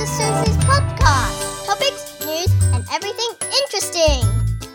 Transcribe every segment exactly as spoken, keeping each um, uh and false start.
Sister Susie's podcast. Topics, news, and everything interesting.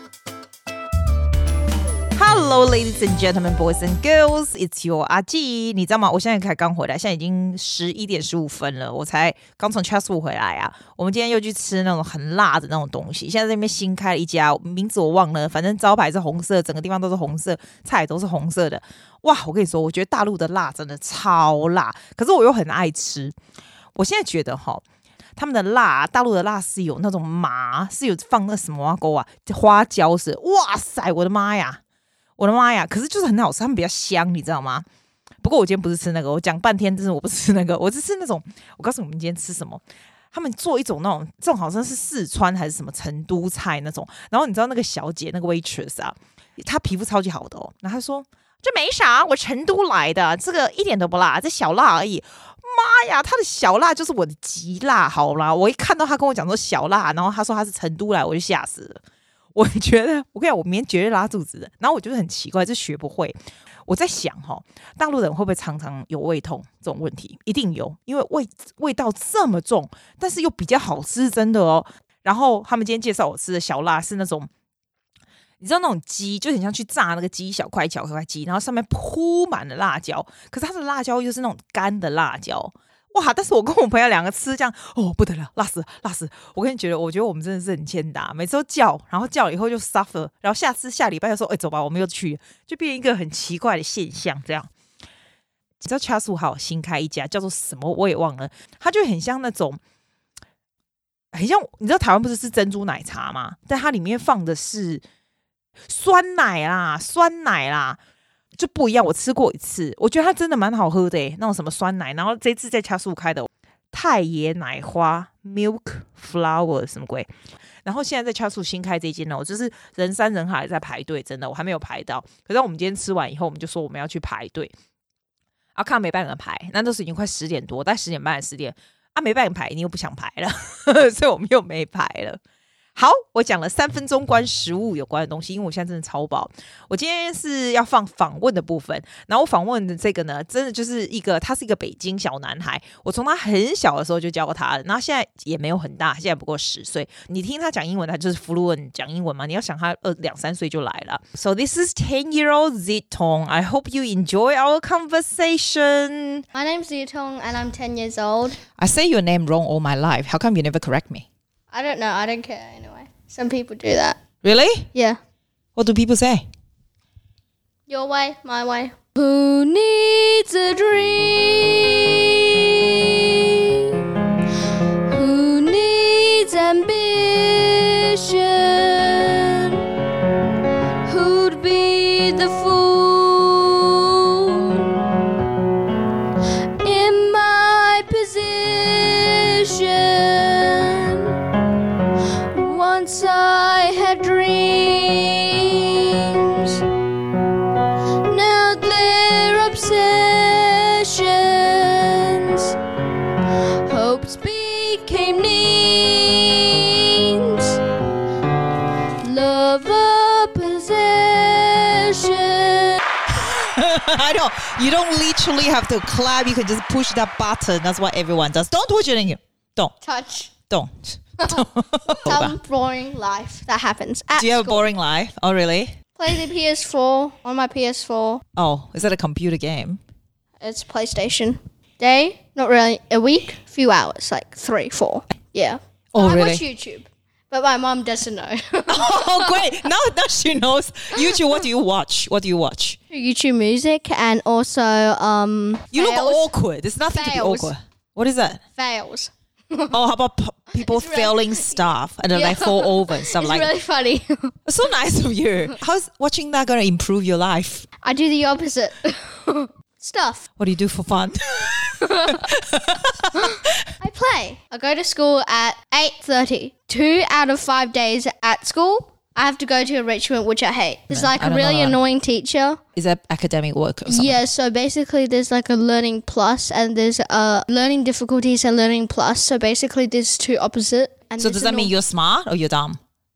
Hello, ladies and gentlemen, boys and girls. It's your 阿季。你知道嗎？我現在才剛回來，現在已經十一點十五分了，我才剛從 Chatswood 回來啊。我們今天又去吃那種很辣的那種東西。現在在那邊新開了一家，名字我忘了，反正招牌是紅色，整個地方都是紅色，菜都是紅色的。哇，我跟你說，我覺得大陸的辣真的超辣，可是我又很愛吃。我現在覺得哈。他們的辣，大陸的辣是有那種麻，是有放那什麼啊勾啊，花椒是，哇塞，我的媽呀！我的媽呀！可是就是很好吃，他們比較香，你知道嗎？不過我今天不是吃那個，我講半天，真是我不吃那個，我是吃那種。我告訴你們今天吃什麼？他們做一種那種，這種好像是四川還是什麼成都菜那種。然後你知道那個小姐那個 waitress 啊，她皮膚超級好的哦。然後她說這沒啥，我成都來的，這個一點都不辣，這小辣而已。媽呀，她的小辣就是我的極辣，好啦！我一看到她跟我講說小辣，然後她說她是成都來，我就嚇死了。我覺得，我跟你講，我明天絕對拉肚子的。然後我覺得很奇怪，就學不會。我在想哈，大陸人會不會常常有胃痛這種問題？一定有，因為味味道這麼重，但是又比較好吃，真的哦。然後他們今天介紹我吃的小辣是那種，你知道那種雞，就很像去炸那個雞小塊小塊雞，然後上面鋪滿了辣椒，可是它的辣椒又是那種乾的辣椒。哇！但是我跟我朋友兩個吃這樣，哦不得了，辣死辣死！我跟你覺得，我覺得我們真的是很欠打，每次都叫，然後叫了以後就 suffer， 然後下次下禮拜又說，哎、欸、走吧，我們又去，就變成一個很奇怪的現象。這樣，你知道 Chatswood 還有新開一家叫做什麼我也忘了，它就很像那種，很像你知道台灣不是吃珍珠奶茶嗎？但它裡面放的是酸奶啦，酸奶啦。就不一樣，我吃過一次，我覺得它真的蠻好喝的耶，那種什麼酸奶，然後這次在Chatswood開的太爺奶花 Milk Flower 什麼鬼，然後現在在Chatswood新開這間呢，我就是人山人海在排隊，真的我還沒有排到，可是我們今天吃完以後，我們就說我們要去排隊，啊看沒辦法排，那都是已經快十點多，大概十點半十點啊沒辦法排，你又不想排了，呵呵所以我們又沒排了。好，我講了三分鐘關食物有關的東西，因為我現在真的超飽。我今天是要放訪問的部分，然後我訪問的這個呢，真的就是一個，他是一個北京小男孩。我從他很小的時候就教過他了，然後現在也沒有很大，現在不過十歲。你聽他講英文，他就是 fluent 講英文嘛。你要想他呃兩三歲就來了。So this is ten-year-old Zitong. I hope you enjoy our conversation. My name's Zitong and I'm ten years old. I say your name wrong all my life. How come you never correct me? I don't know. I don't care anyway. Some people do that. Really? Yeah. What do people say? Your way, my way. Who needs a dream? Who needs ambition? Who'd be the fool in my position? Once I had dreams, now they're obsessions. Hopes became needs, love a possession. I don't, you don't literally have to clap, you can just push that button. That's what everyone does. Don't touch it in here. Don't. Touch. Don't. Some boring life that happens at Do you have school. a boring life? Oh, really? Play the P S four on my P S four. Oh, is that a computer game? It's PlayStation. Day? Not really. A week? Few hours. Like three, four. Yeah. Oh, I really? watch YouTube. But my mom doesn't know. Oh, great. Now, now she knows. YouTube, what do you watch? What do you watch? YouTube music and also... um. You fails. look awkward. There's nothing Fails. to be awkward. What is that? Fails. Oh, how about p- people It's really- failing stuff and then Yeah. like fall over and stuff It's like really funny. It's so nice of you. How's watching that going to improve your life? I do the opposite. Stuff. What do you do for fun? I play. I go to school at eight thirty. Two out of five days at school, I have to go to enrichment, which I hate. There's No, like I a don't really know that. annoying teacher. Is that academic work or something? Yeah, so basically there's like a learning plus and there's uh learning difficulties and learning plus. So basically there's two opposite. And So there's does that a mean nor- you're smart or you're dumb?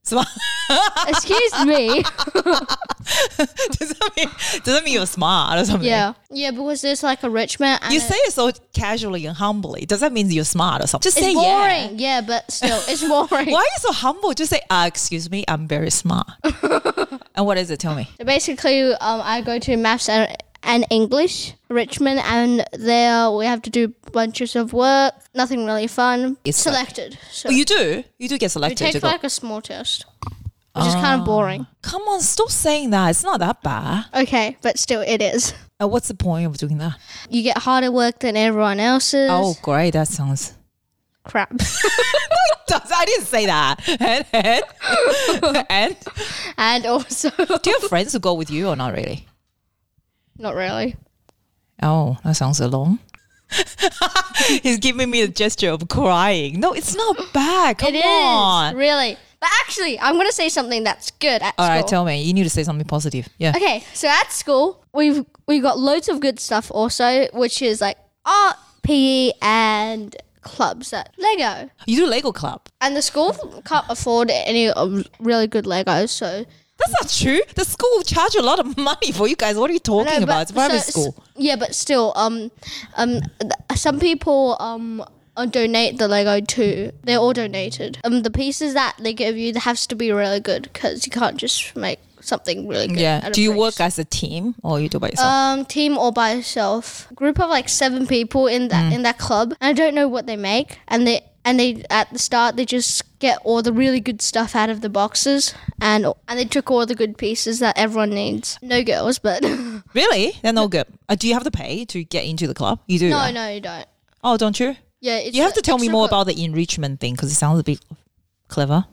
Smart. Excuse me. does that mean does that mean you're smart or something? Yeah. Yeah, because there's like a Richmond. And You a- say it so casually and humbly. Does that mean you're smart or something? Just it's say boring. yeah. Yeah, but still, it's boring. Why are you so humble? Just say, uh, excuse me, I'm very smart. And what is it? Tell me. So basically, um, I go to maths and, and English, Richmond, and there we have to do bunches of work. Nothing really fun. It's selected. So Oh, you do? You do get we selected take to go. like a small test, which is kind of boring. Come on, stop saying that. It's not that bad. Okay, but still, it is. Uh, what's the point of doing that? You get harder work than everyone else's. Oh, great. That sounds... Crap. I didn't say that. And, and, and And also, do you have friends who go with you or not really? not really. Oh, that sounds alone. He's giving me a gesture of crying. No, it's not bad. Come It is, on. really. But actually, I'm going to say something that's good at All school. right, tell me. You need to say something positive. Yeah. Okay, so at school, we've we got loads of good stuff also, which is like art, P E, and clubs at Lego. You do Lego club. And the school can't afford any um, really good Legos, so... That's not true. The school charge a lot of money for you guys. What are you talking No, but- about? It's private so- school. Yeah, but still, um, um, th- some people um uh, donate the Lego too. They're all donated. Um, the pieces that they give you, that has to be really good because you can't just make something really good. Yeah. out of Do you bricks. work as a team or you do by yourself? Um, team or by yourself. Group of like seven people in that in that club. And I don't know what they make. And they and they at the start they just get all the really good stuff out of the boxes, and and they took all the good pieces that everyone needs. No girls, but no, Really? They're no good. Uh, do you have to pay to get into the club? You do. right? no, you don't. Oh, don't you? Yeah, it's You have to tell me extra more co- about the enrichment thing because it sounds a bit clever.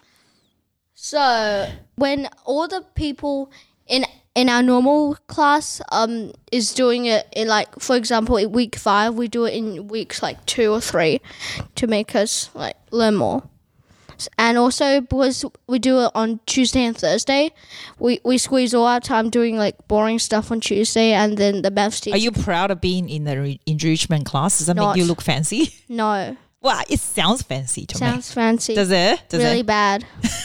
So when all the people in in our normal class um is doing it in, like, for example, in week five, we do it in weeks like two or three to make us like learn more. And also because we do it on Tuesday and Thursday, we, we squeeze all our time doing like boring stuff on Tuesday, and then the maths teacher. Are you proud of being in the re- enrichment class? Does that Not. make you look fancy? No, Well, it sounds fancy to sounds fancy. me. Does it? Does really it? bad.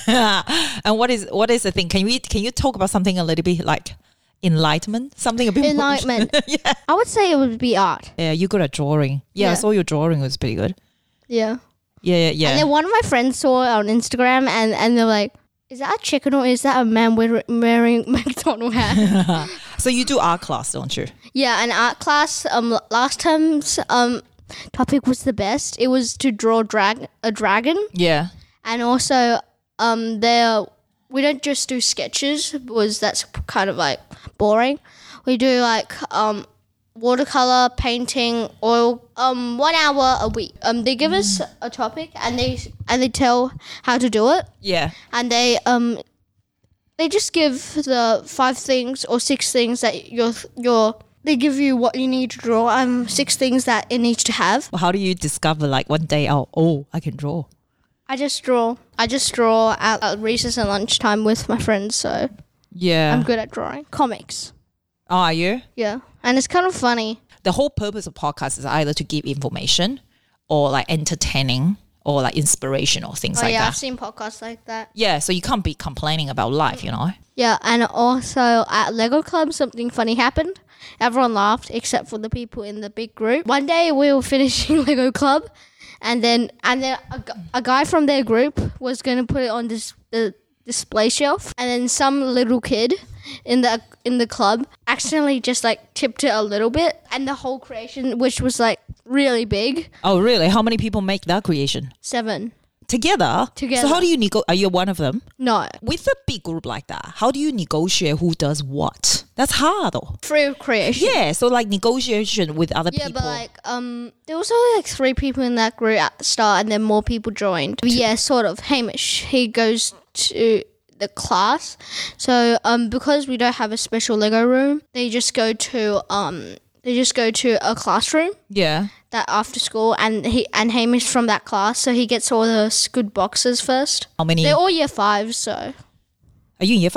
And what is what is the thing? Can we can you talk about something a little bit like enlightenment? Something a bit more- Enlightenment. yeah. I would say it would be art. Yeah, you good at drawing. Yeah, I Yeah. saw your drawing was pretty good. Yeah. Yeah, yeah, yeah. And then one of my friends saw it on Instagram, and, and they're like, is that a chicken or is that a man wearing, wearing McDonald hat? So you do art class, don't you? Yeah, an art class. Um, last term's um topic was the best. It was to draw drag a dragon, Yeah. and also um there we don't just do sketches because that's kind of like boring. We do like um watercolor, painting, oil. Um, one hour a week. Um, they give us a topic, and they and they tell how to do it, Yeah. and they um they just give the five things or six things that you're you're. They give you what you need to draw. Um, six things that it needs to have. Well, how do you discover like one day, oh, oh, I can draw? I just draw. I just draw at, at recess and lunchtime with my friends. So Yeah. I'm good at drawing comics. Oh, are you? Yeah, and it's kind of funny. The whole purpose of podcasts is either to give information or like entertaining or like inspirational things Oh like yeah, that. I've seen podcasts like that. Yeah, so you can't be complaining about life, you know? Yeah, and also at Lego Club, something funny happened. Everyone laughed except for the people in the big group. One day we were finishing Lego Club, and then and then a, gu- a guy from their group was going to put it on this the display shelf, and then some little kid in the in the club accidentally just like tipped it a little bit, and the whole creation, which was like really big, Oh, really? How many people make that creation? seven. Together? Together. So how do you nego- Are you one of them? No, With a big group like that, how do you negotiate who does what? That's hard though. free creation. Yeah, so like negotiation with other Yeah, people. but like um, there was only like three people in that group at the start, and then more people joined. Yeah, sort of. Hamish, he goes to the class, so um, because we don't have a special Lego room, they just go to um, they just go to a classroom yeah. that after school, and he and Hamish from that class, so he gets all the s- good boxes first. How many? They're all year five, so Are you in year five?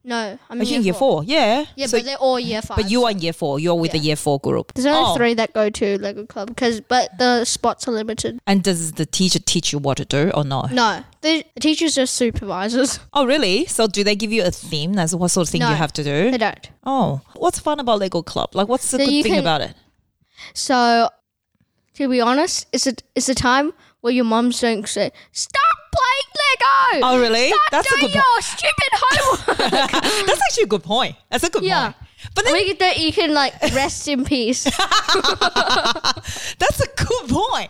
No, I'm Are in you in year year four? Yeah. Yeah, so, but they're all year five. but you are in year four. You're with Yeah. the year four group. There's only oh. three that go to Lego Club, because but the spots are limited. And does the teacher teach you what to do or no? No, the, the teachers are supervisors. Oh, really? So do they give you a theme? That's what sort of thing No, you have to do? They don't. Oh, what's fun about Lego Club? Like, what's the So good you thing can- about it? So, to be honest, it's a it's a time where your mums don't say, "Stop playing Lego." Oh, really? Stop That's a doing good your stupid homework. That's actually a good point. That's a good Yeah. point. But then we can, you can like rest in peace. that's a good point.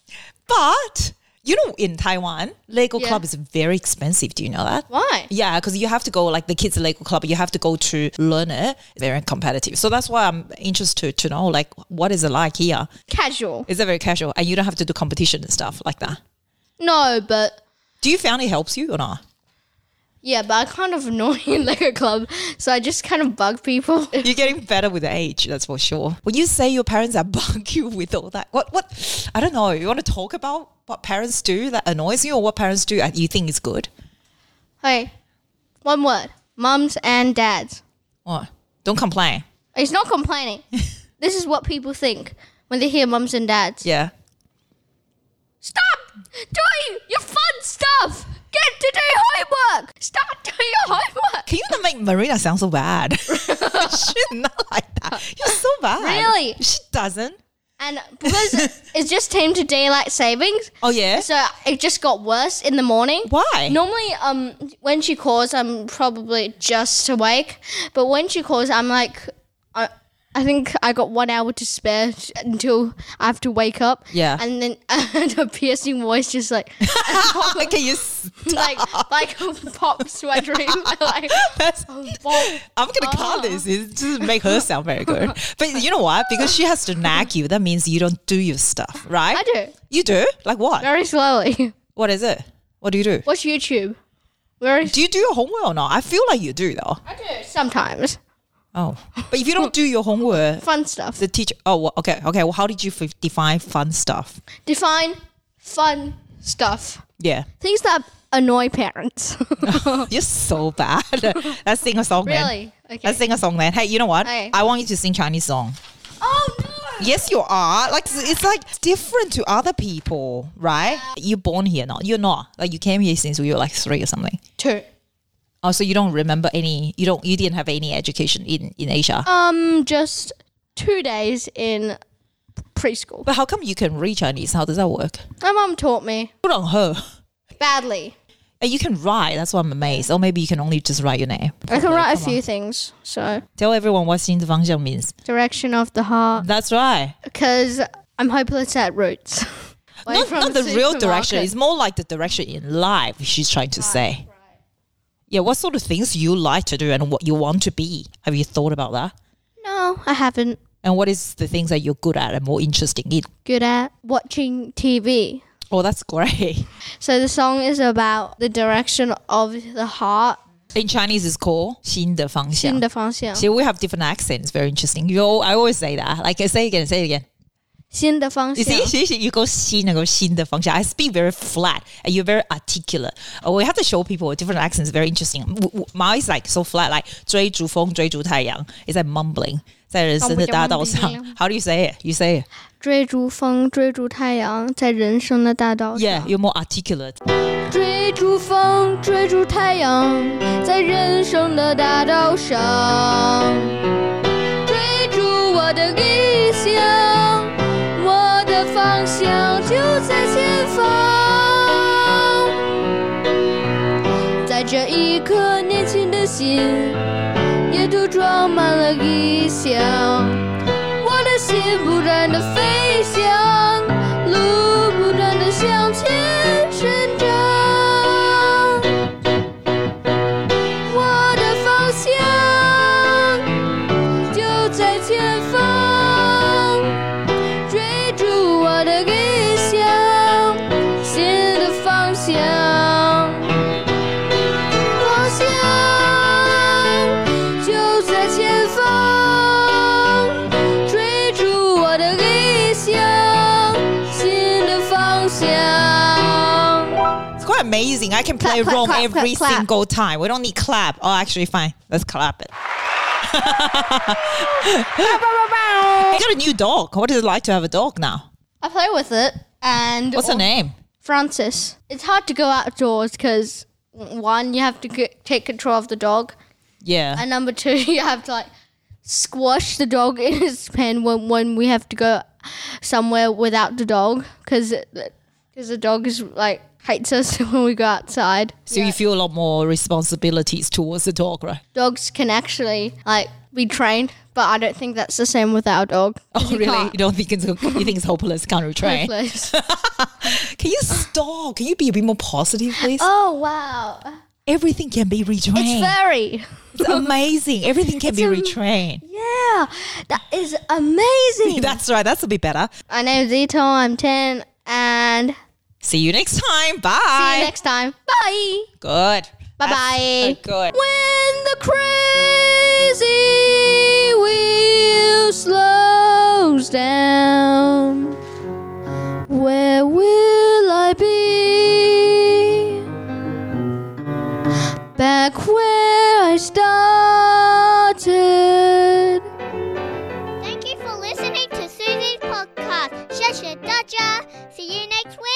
But you know, in Taiwan, Lego Yeah. Club is very expensive. Do you know that? Why? Yeah, because you have to go, like the kids' Lego Club, you have to go to learn it. Very competitive. So that's why I'm interested to know, like, what is it like here? Casual. Is it very casual? And you don't have to do competition and stuff like that? No, but Do you find it helps you or not? yeah, but I'm kind of annoying in Lego Club, so I just kind of bug people. You're getting better with age, that's for sure. When you say your parents are bug you with all that, what, what, I don't know, you want to talk about what parents do that annoys you or what parents do that you think is good? Hey, one word: mums and dads. What? Don't complain. It's not complaining. This is what people think when they hear mums and dads. Yeah. Stop doing your fun stuff. Get to do homework. Stop doing your homework. Can you not make Marina sound so bad? She's not like that. You're so bad. Really? She doesn't. And because it's just came to daylight savings, Oh, yeah? so it just got worse in the morning. Why? Normally, um, when she calls, I'm probably just awake. But when she calls, I'm like, I, I think I got one hour to spare until I have to wake up. Yeah. And then and a piercing voice just like, Can you like, like pops my dream. Like, That's, oh, I'm going to cut this. It doesn't make her sound very good. But you know what? Because she has to nag you, that means you don't do your stuff, right? I do. You do? Like what? Very slowly. What is it? What do you do? Watch YouTube. Very. Do you do your homework or not? I feel like you do though. I do sometimes. Oh. But if you don't do your homework, Fun stuff. the teacher, oh, well, okay, okay. Well, how did you f- define fun stuff? Define fun stuff. Yeah. Things that annoy parents. You're so bad. Let's sing a song, man. Really? Okay. Let's sing a song, man. Hey, you know what? Okay. I want you to sing Chinese song. Oh no! Yes, you are. Like it's, it's like different to other people, right? You're born here, not you're not. Like you came here since you were like three or something. Two. Oh, so you don't remember any? You don't. You didn't have any education in in Asia. Um, just two days in preschool. But how come you can read Chinese? How does that work? My mum taught me Put on her. badly. And you can write. That's why I'm amazed. Or maybe you can only just write your name. I can Okay, write a come few on. things. So Tell everyone what 心的方向 means. direction of the heart, That's right. because I'm hopeless at roots. Like Not, from not the real supermarket. direction. It's more like the direction in life she's trying to say. Yeah, what sort of things you like to do and what you want to be? Have you thought about that? No, I haven't. And what is the things that you're good at and more interesting in? Good at watching T V. Oh, that's great. So the song is about the direction of the heart. In Chinese, it's called 心的方向. 新的方向. See, we have different accents. Very interesting. You, al- I always say that. Like, say it again, say it again. 新的方 You 向. see, see, see, you go 心 and go 心的方向. I speak very flat and you're very articulate. Uh, we have to show people with different accents. Very interesting. W- w- Mine is like so flat, like 追逐风,追逐太陽. It's like mumbling. 在人生的大道上. How do you say it? You say it. 追逐风，追逐太陽，在人生的大道上。 Yeah, you're more articulate. 追逐風，追逐太陽，在人生的大道上。追逐我的理想，我的方向就在前方。在這一顆年輕的心，也都裝滿了理想。我的心不斷地飛翔，路不斷地向前生長。我的方向就在前方，追逐我的理想，新的方向。方向就在前方，追逐我的理想，新的方向。 It's quite amazing. I can play clap, Rome clap, every clap, clap. single time. We don't need clap. Oh, actually, fine. Let's clap it. You got a new dog. What is it like to have a dog now? I play with it. And What's her name? Francis. It's hard to go outdoors because, one, you have to get, take control of the dog. Yeah. And number two, you have to like squash the dog in his pen when, when we have to go somewhere without the dog because because the dog is like hates us when we go outside. So yeah. you feel a lot more responsibilities towards the dog, right? Dogs can actually like be trained, but I don't think that's the same with our dog. Oh, you really? can't. You don't think it's you think it's hopeless? Can't retrain? Hopeless. Can you stop? Can you be a bit more positive, please? Oh wow! Everything can be retrained. It's fairy. It's amazing. Everything can It's be am- retrained. Yeah, that is amazing. That's right. That's a bit better. My name's Zito. I'm ten, and See you next time. Bye. see you next time. Bye. Good. Bye That's bye. so good. When the crazy wheel slows down, where will I be? Back where I started. Thank you for listening to Susie's podcast. Shasha Dodger. See you next week.